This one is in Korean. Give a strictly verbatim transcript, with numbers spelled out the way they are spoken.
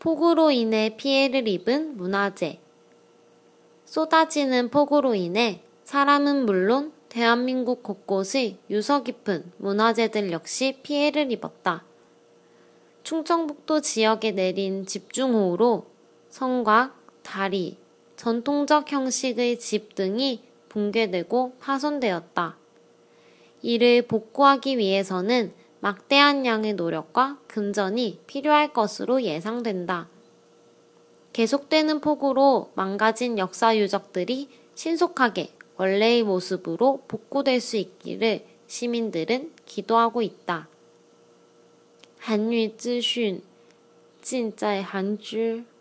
폭우로 인해 피해를 입은 문화재. 쏟아지는 폭우로 인해 사람은 물론 대한민국 곳곳의 유서 깊은 문화재들 역시 피해를 입었다. 충청북도 지역에 내린 집중호우로 성곽, 다리, 전통적 형식의 집 등이 붕괴되고 파손되었다. 이를 복구하기 위해서는 막대한 양의 노력과 금전이 필요할 것으로 예상된다. 계속되는 폭우로 망가진 역사 유적들이 신속하게 원래의 모습으로 복구될 수 있기를 시민들은 기도하고 있다. 한유资讯尽在韩知